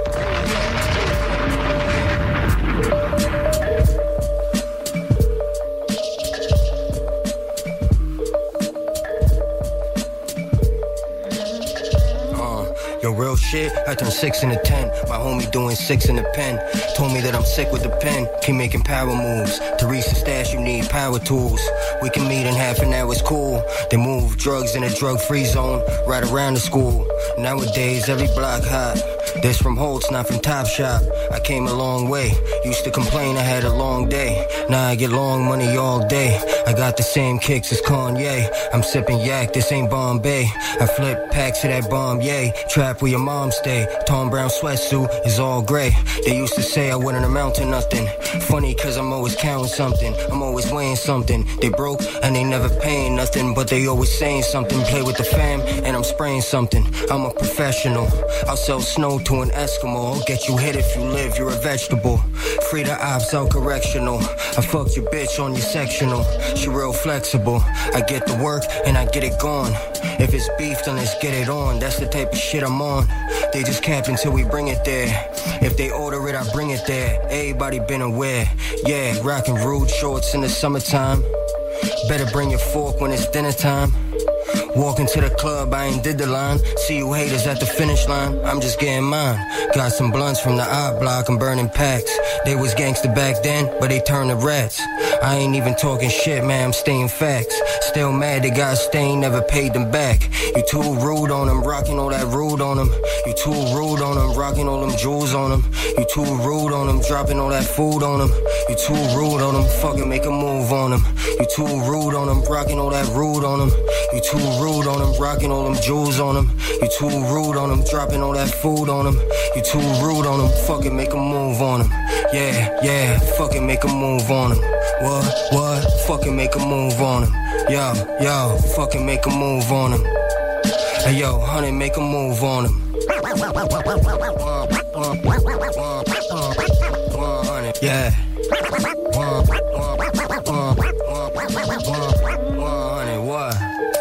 Yo, real shit, I turned six into ten. My homie doing six in the pen. Told me that I'm sick with the pen. Keep making power moves. To reach the stash, you need power tools. We can meet in half an hour, it's cool. They move drugs in a drug-free zone, right around the school. Nowadays, every block hot. This from Holtz, not from Top Shop. I came a long way. Used to complain I had a long day. Now I get long money all day. I got the same kicks as Kanye. I'm sipping yak, this ain't Bombay. I flip packs of that bomb, yay. Trap where your mom stay. Tom Brown sweatsuit is all gray. They used to say I wouldn't amount to nothing. Funny cause I'm always counting something. I'm always weighing something. They broke and they never paying nothing, but they always saying something. Play with the fam and I'm spraying something. I'm a professional. I'll sell snow to an Eskimo. I'll get you hit if you live, you're a vegetable. Free the ops out correctional. I fucked your bitch on your sectional. She real flexible. I get the work and I get it gone. If it's beef, then let's get it on. That's the type of shit I'm on. They just cap until we bring it there. If they order it, I bring it there. Everybody been aware. Yeah, rockin' rude shorts in the summertime. Better bring your fork when it's dinner time. Walking to the club, I ain't did the line. See you haters at the finish line, I'm just getting mine. Got some blunts from the I block, I'm burning packs. They was gangster back then, but they turned to rats. I ain't even talking shit, man, I'm staying facts. Still mad they got stained, never paid them back. You too rude on them, rocking all that rude on them. You too rude on them, rocking all them jewels on them. You too rude on them, dropping all that food on them. You too rude on them, fucking make a move on them. You too rude on them, rocking all that rude on them. You too rude on them, rocking all them jewels on them. You too rude on them, dropping all that food on them. You too rude on them, fucking make a move on them. Yeah, yeah, fucking make a move on them. What, what, fucking make a move on them. Yo, yo, fucking make a move on them. Hey yo, honey, make a move on them. Yeah. Honey, what?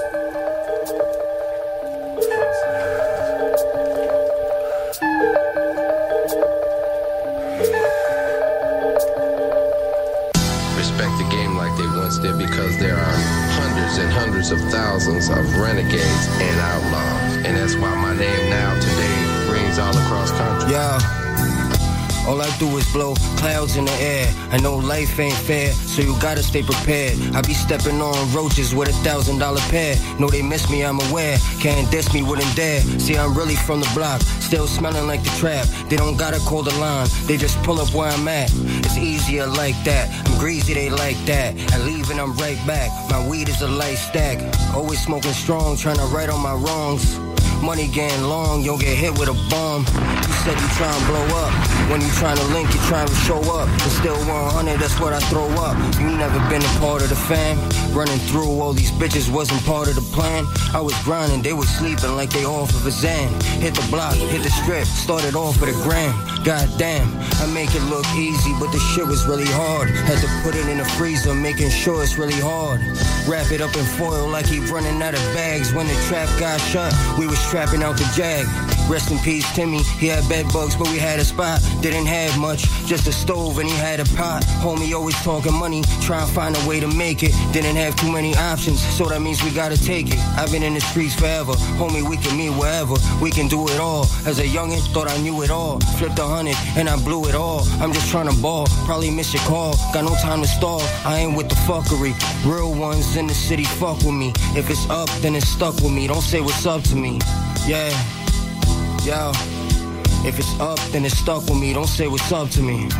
Respect the game like they once did, because there are hundreds and hundreds of thousands of renegades and outlaws. And that's why my name now today rings all across country.
Yeah. All I do is blow clouds in the air. I know life ain't fair, so you gotta stay prepared. I be stepping on roaches with a thousand dollar pair. Know they miss me, I'm aware. Can't diss me, wouldn't dare. See, I'm really from the block, still smelling like the trap. They don't gotta call the line, they just pull up where I'm at. It's easier like that. I'm greasy, they like that. I leave and I'm right back. My weed is a light stack. Always smoking strong, trying to right on my wrongs. Money getting long, you'll get hit with a bomb. You said you try and blow up. When you trying to link, you trying to show up. But still one hundred, that's what I throw up. You never been a part of the fam. Running through all these bitches wasn't part of the plan. I was grinding, they was sleeping like they off of a Xan. Hit the block, hit the strip, started off with a gram. God damn, I make it look easy, but the shit was really hard. Had to put it in the freezer, making sure it's really hard. Wrap it up in foil like he running out of bags. When the trap got shut, we was trapping out the jag. Rest in peace, Timmy. He had bed bugs, but we had a spot. Didn't have much, just a stove and he had a pot. Homie always talking money, try and find a way to make it. Didn't have too many options, so that means we gotta take it. I've been in the streets forever, homie, we can meet wherever. We can do it all. As a youngin', thought I knew it all. Flipped a hundred and I blew it all. I'm just trying to ball, probably miss your call. Got no time to stall, I ain't with the fuckery. Real ones in the city fuck with me. If it's up, then it's stuck with me. Don't say what's up to me. Yeah, yo. If it's up, then it's stuck with me. Don't say what's up to me.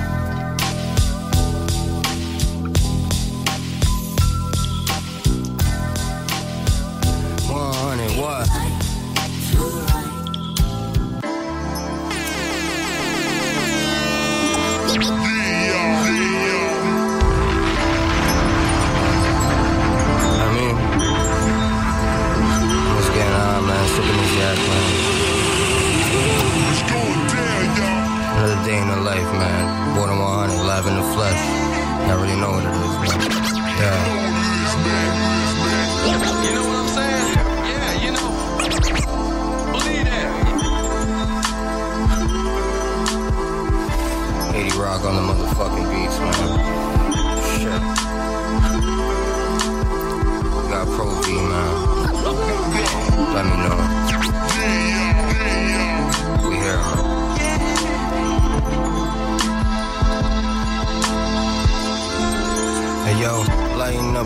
one hundred, what? I mean, what's going on, man? Sipping this yak, man. Another day in the life, man. Born in one hundred, live in the flesh. I already know what it is, man. Yeah.
You know what I'm saying? Yeah, you know. Believe that.
eighty Rock on the motherfucking beats, man. Shit. We got Pro V, man. Let me know.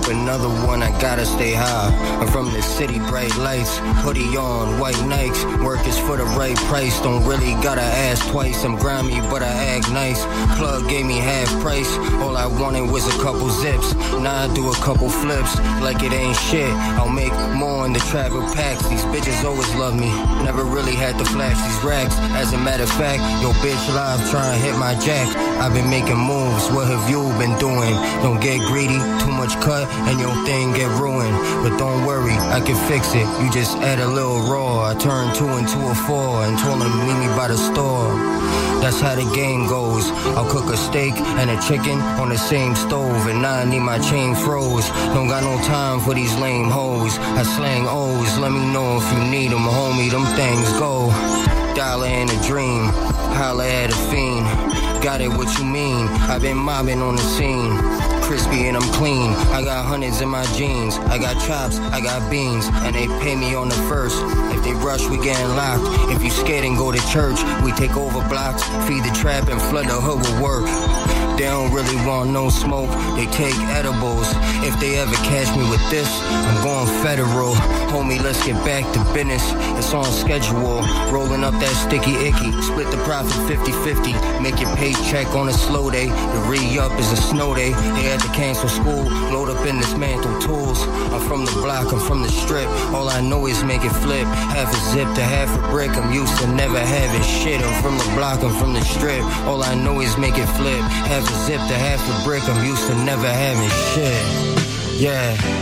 up another one, I gotta stay high. I'm from the city, bright lights, hoodie on, white Nikes. Work is for the right price, don't really gotta ask twice. I'm grimy, but I act nice. Plug gave me half price, all I wanted was a couple zips. Now I do a couple flips, like it ain't shit. I'll make more in the travel packs. These bitches always love me, never really had to flash these racks. As a matter of fact, yo bitch live trying to hit my jack. I've been making moves, what have you been doing? Don't get greedy, too much cut and your thing get ruined. But don't worry, I can fix it, you just add a little raw. I turned two into a four and told him meet me by the store. That's how the game goes. I'll cook a steak and a chicken on the same stove, and now I need my chain froze. Don't got no time for these lame hoes. I slang O's, let me know if you need them, homie, them things go. Dollar and a dream, holla at a fiend. Got it, what you mean? I've been mobbing on the scene. Crispy and I'm clean, I got hundreds in my jeans. I got chops, I got beans, and they pay me on the first. If they rush, we getting locked. If you scared and go to church, we take over blocks. Feed the trap and flood the hood with work. They don't really want no smoke, they take edibles. If they ever catch me with this, I'm going federal. Homie, let's get back to business, it's on schedule. Rolling up that sticky icky, split the profit fifty-fifty. Make your paycheck on a slow day, the re-up is a snow day. They had to cancel school, load up and dismantle tools. I'm from the block, I'm from the strip, all I know is make it flip. Half a zip to half a brick, I'm used to never having shit. I'm from the block, I'm from the strip, all I know is make it flip. Half a zip to half a brick, I'm used to never having shit. Yeah.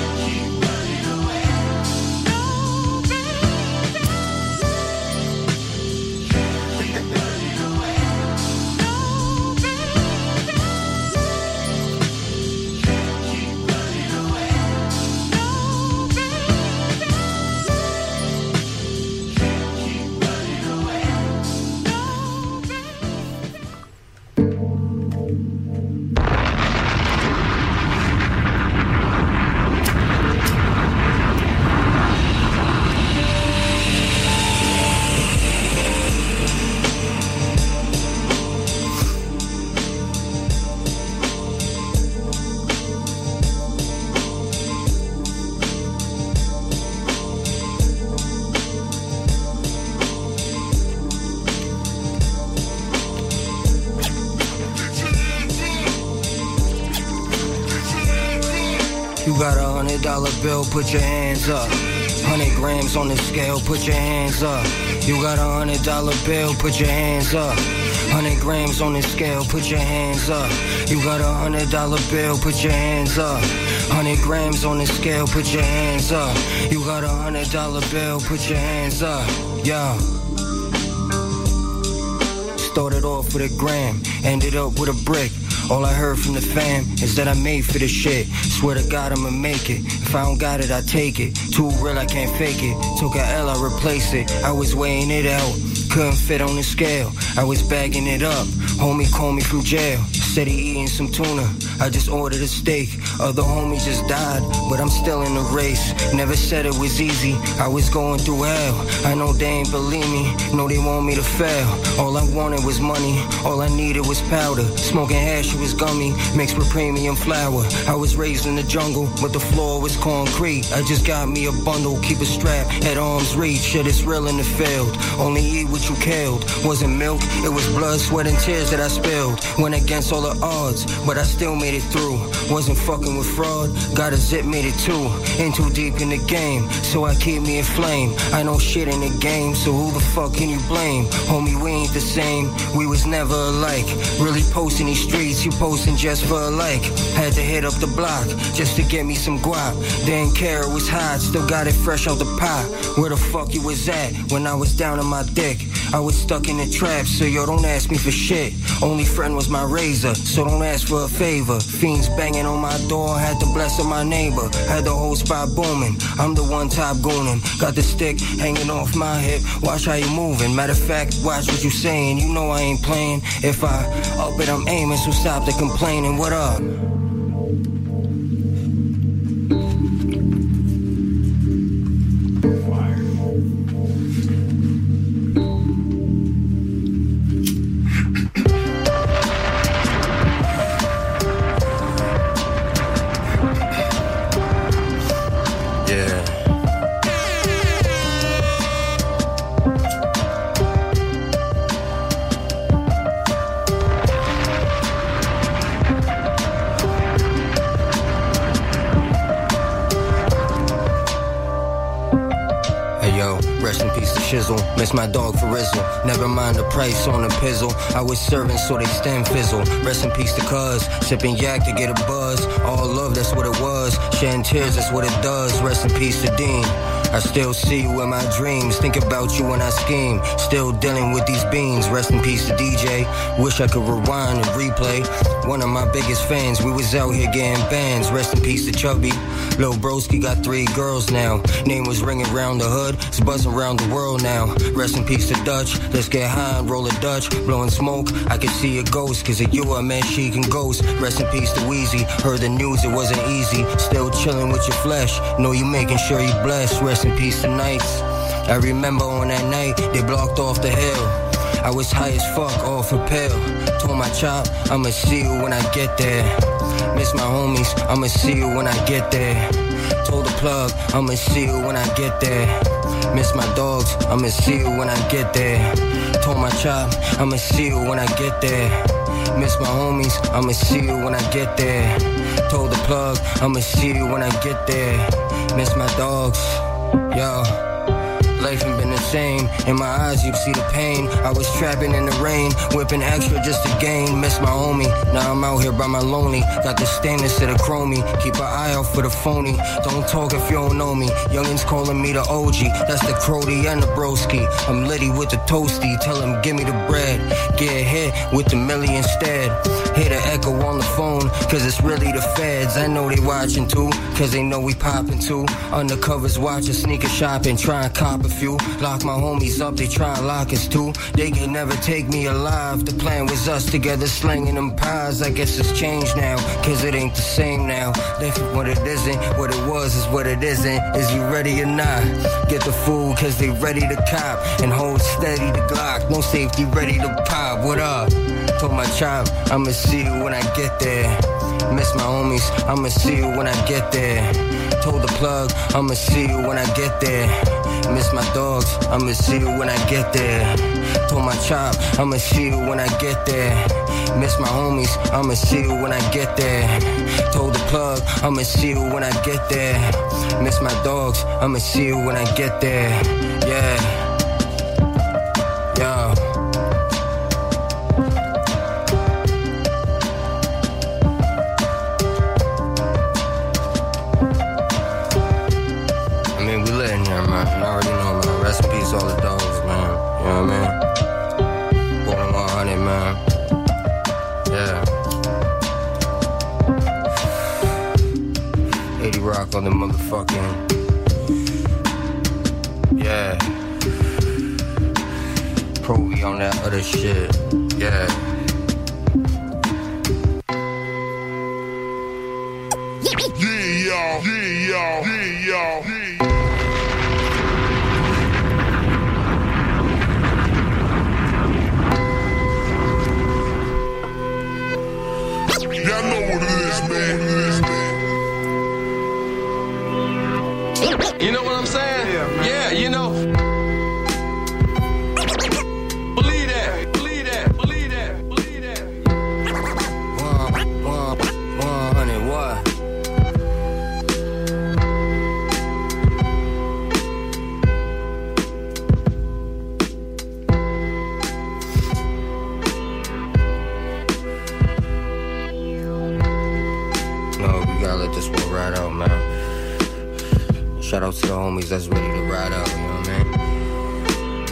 You got a hundred dollar bill, put your hands up. Hundred grams on the scale, put your hands up. You got a hundred dollar bill, put your hands up. Hundred grams on the scale, put your hands up. You got a hundred dollar bill, put your hands up. Hundred grams on the scale, put your hands up. You got a hundred dollar bill, put your hands up. Yeah. Started off with a gram, ended up with a brick. All I heard from the fam is that I made for this shit. Swear to God I'ma make it. If I don't got it, I take it. Too real, I can't fake it. Took a L, I replace it. I was weighing it out, couldn't fit on the scale. I was bagging it up. Homie called me from jail, said he eating some tuna. I just ordered a steak. Other homie just died, but I'm still in the race. Never said it was easy, I was going through hell. I know they ain't believe me, know they want me to fail. All I wanted was money, all I needed was powder. Smoking hash, it was gummy, mixed with premium flour. I was raised in the jungle, but the floor was concrete. I just got me a bundle, keep a strap at arm's reach. Shit is real in the field, only eat what you killed. Wasn't milk, it was blood, sweat and tears that I spilled. Went against all the odds, but I still made it through. Wasn't fucking with fraud, got a zip, made it too. In too deep in the game, so I keep me inflamed. I know shit in the game, so who the fuck can you blame? Homie, we ain't the same, we was never alike. Really posting these streets, you posting just for a like. Had to hit up the block, just to get me some guap. Didn't care, it was hot, still got it fresh out the pot. Where the fuck you was at, when I was down on my dick? I was stuck in the trap, so yo, don't ask me for shit. Only friend was my razor, so don't ask for a favor. Fiends banging on my door, had the blessing my neighbor. Had the whole spot booming, I'm the one top goonin'. Got the stick hanging off my hip, watch how you moving. Matter of fact, watch what you saying, you know I ain't playing. If I up it, I'm aiming, so stop the complaining. What up? peace to Shizzle. Miss my dog for Rizzle. Never mind the price on the pizzle. I was serving so they stem fizzle. Rest in peace to Cuz. Sipping yak to get a buzz. All love, that's what it was. Shedding tears, that's what it does. Rest in peace to Dean. I still see you in my dreams. Think about you when I scheme. Still dealing with these beans. Rest in peace to D J. Wish I could rewind and replay. One of my biggest fans. We was out here getting bands. Rest in peace to Chubby. Lil Broski got three girls now. Name was ringing around the hood. It's buzzing around the world now. Rest in peace to Dutch. Let's get high and roll a Dutch. Blowing smoke. I can see a ghost. Cause of you I met she can ghost. Rest in peace to Weezy. Heard the news it wasn't easy. Still chilling with your flesh. Know you making sure you blessed. Rest in peace to Nights. I remember on that night they blocked off the hill. I was high as fuck off a pill. Told my chop I'ma see you when I get there. Miss my homies, I'ma see you when I get there. Told the plug I'ma see you when I get there. Miss my dogs, I'ma see you when I get there. Told my chop I'ma see you when I get there. Miss my homies, I'ma see you when I get there. Told the plug I'ma see you when I get there. Miss my dogs. Yo, life ain't been the same. In my eyes, you see the pain. I was trapping in the rain, whipping extra just to gain. Miss my homie, now I'm out here by my lonely. Got the stainless to the chromey. Keep an eye out for the phony. Don't talk if you don't know me. Youngins calling me the O G. That's the Crody and the broski. I'm litty with the toasty. Tell him give me the bread. Get hit with the million instead. Hear the echo on the phone, cause it's really the feds. I know they watching too, cause they know we popping too. Undercovers watching, sneaker shopping, try and cop a few. Lock my homies up, they try and lock us too. They can never take me alive. The plan was us together slinging them pies. I guess it's changed now, cause it ain't the same now. Life is what it isn't, what it was is what it isn't. Is you ready or not? Get the food, cause they ready to cop. And hold steady the Glock, no safety ready to pop. What up? Told my chop, I'ma see you when I get there. Miss my homies, I'ma see you when I get there. Told the plug, I'ma see you when I get there. Miss my dogs, I'ma see you when I get there. Told my chop, I'ma see you when I get there. Miss my homies, I'ma see you when I get there. Told the plug, I'ma see you when I get there. Miss my dogs, I'ma see you when I get there. Yeah. Yo. Rest in peace, all the dogs, man. You know what I mean? Born one hundred, man. Yeah. eighty Rock on the motherfucking. Yeah. Provy on that other shit. Yeah.
Yeah, y'all. Yeah, y'all. Yeah, y'all. Yeah. Y'all know what it is, man.
You know what I'm saying?
Yeah, man.
Yeah, you know. Believe that, believe that, believe that, believe that.
One, one, one hundred, what? This one ride out, man. Shout out to the homies that's ready to ride out, you know what I mean?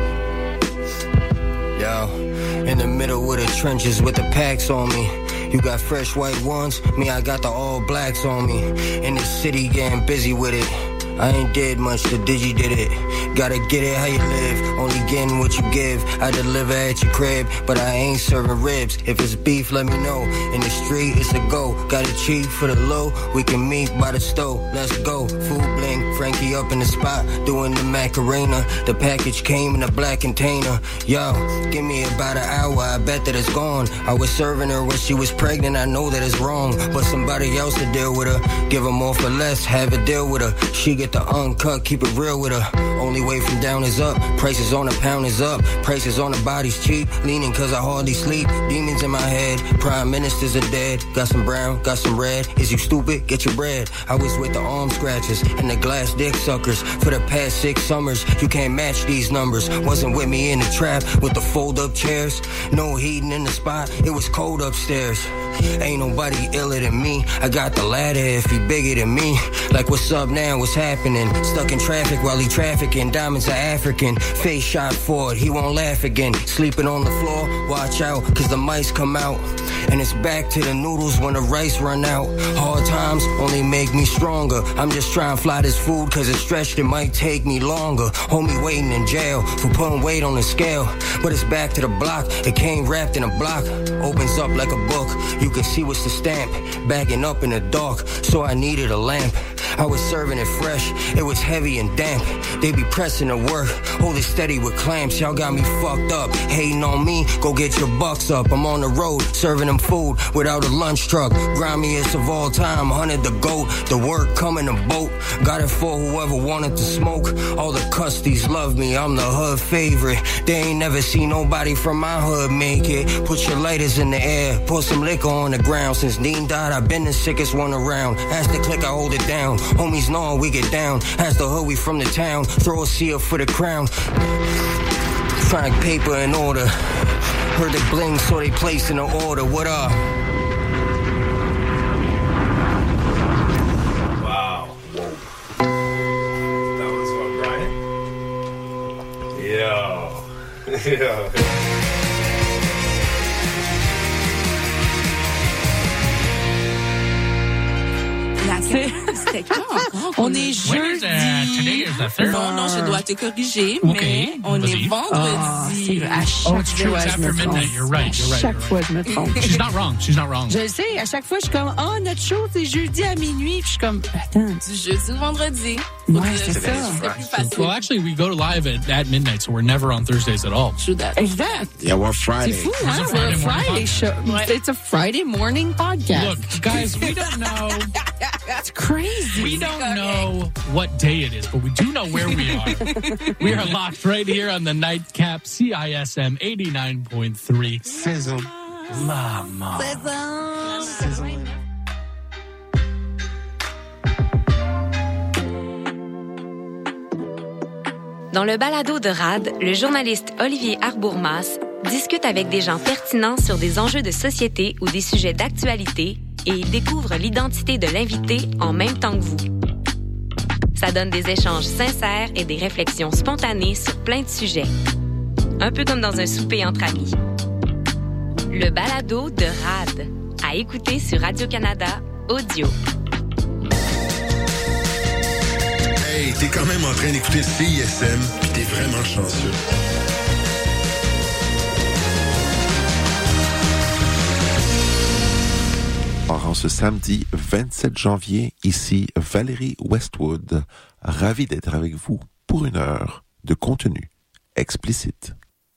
Yeah. Yo, in the middle of the trenches with the packs on me. You got fresh white ones, me I got the all blacks on me. In the city getting busy with it. I ain't did much, the digi did it. Gotta get it how you live, only getting what you give. I deliver at your crib, but I ain't serving ribs. If it's beef, let me know. In the street, it's a go. Got it cheap for the low, we can meet by the stove. Let's go, food bling, Frankie up in the spot, doing the Macarena. The package came in a black container. Yo, give me about an hour, I bet that it's gone. I was serving her when she was pregnant, I know that it's wrong. But somebody else to deal with her, give her more for less, have a deal with her. She get the uncut, keep it real with her. Only way from down is up. Prices on a pound is up. Prices on the body's cheap. Leaning cause I hardly sleep. Demons in my head. Prime ministers are dead. Got some brown, got some red. Is you stupid? Get your bread. I was with the arm scratchers and the glass dick suckers for the past six summers. You can't match these numbers. Wasn't with me in the trap with the fold up chairs. No heating in the spot. It was cold upstairs. Ain't nobody iller than me. I got the ladder if he bigger than me. Like what's up now, what's happening? Stuck in traffic while he trafficking. Diamonds are African. Face shot forward, he won't laugh again. Sleeping on the floor, watch out, cause the mice come out. And it's back to the noodles when the rice run out. Hard times only make me stronger. I'm just trying to fly this food cause it's stretched, it might take me longer. Homie waiting in jail for putting weight on the scale. But it's back to the block, it came wrapped in a block. Opens up like a book, you can see what's the stamp. Bagging up in the dark, so I needed a lamp. I was serving it fresh, it was heavy and damp. They be pressing the work, hold it steady with clamps. Y'all got me fucked up, hating on me, go get your bucks up. I'm on the road, serving them food without a lunch truck. Grimiest of all time, hunted the goat. The work come in a boat, got it for whoever wanted to smoke. All the custies love me, I'm the hood favorite. They ain't never seen nobody from my hood make it. Put your lighters in the air, pour some liquor on the ground. Since Dean died, I've been the sickest one around. As the click, I hold it down. Homies know we get down. As the hood, we from the town. Throw a seal for the crown. Find paper in order. Heard they bling, so they place in the order. What up?
Wow. Whoa. That was what, Brian? Yo. Yo.
C'était quand encore? On est jeudi. Non, non, je dois te corriger, okay. Mais on est vendredi.
Oh, à chaque
oh,
fois, je me trompe.
You're right, you're right.
À chaque fois, je me trompe.
She's not wrong, she's not wrong.
Je le sais, à chaque fois, je suis comme, oh, notre show, c'est jeudi à minuit. Puis je suis comme, attends.
Du jeudi au vendredi.
Ouais, c'est ça.
C'est plus facile.
Well, actually, we go live at, at midnight, so we're never on Thursdays at all.
True that.
Exact.
Yeah, we're Friday.
C'est fou, hein? We're a Friday show.
Ouais.
It's a Friday morning podcast.
Look, guys, we don't know.
That's crazy.
We don't know what day it is, but we do know where we are. We are locked right here on the Nightcap C I S M eighty-nine point three.
Sizzle.
Mama.
Sizzle.
Dans le balado de R A D, le journaliste Olivier Arbourmas discute avec des gens pertinents sur des enjeux de société ou des sujets d'actualité et il découvre l'identité de l'invité en même temps que vous. Ça donne des échanges sincères et des réflexions spontanées sur plein de sujets. Un peu comme dans un souper entre amis. Le balado de R A D, à écouter sur Radio-Canada Audio.
Hey, t'es quand même en train d'écouter C I S M, pis t'es vraiment chanceux.
En ce samedi vingt-sept janvier, ici Valérie Westwood, ravi d'être avec vous pour une heure de contenu explicite.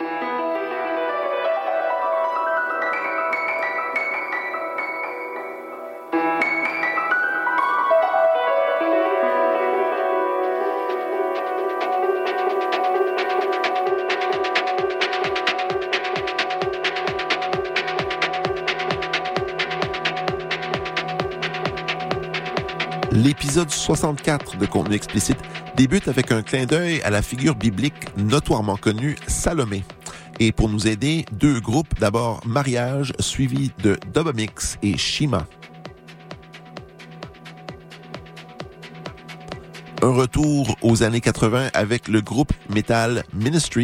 L'épisode soixante-quatre de Contenu explicite débute avec un clin d'œil à la figure biblique notoirement connue, Salomé. Et pour nous aider, deux groupes, d'abord Mariage, suivi de Dubamix et Shima. Un retour aux années quatre-vingts avec le groupe Metal Ministry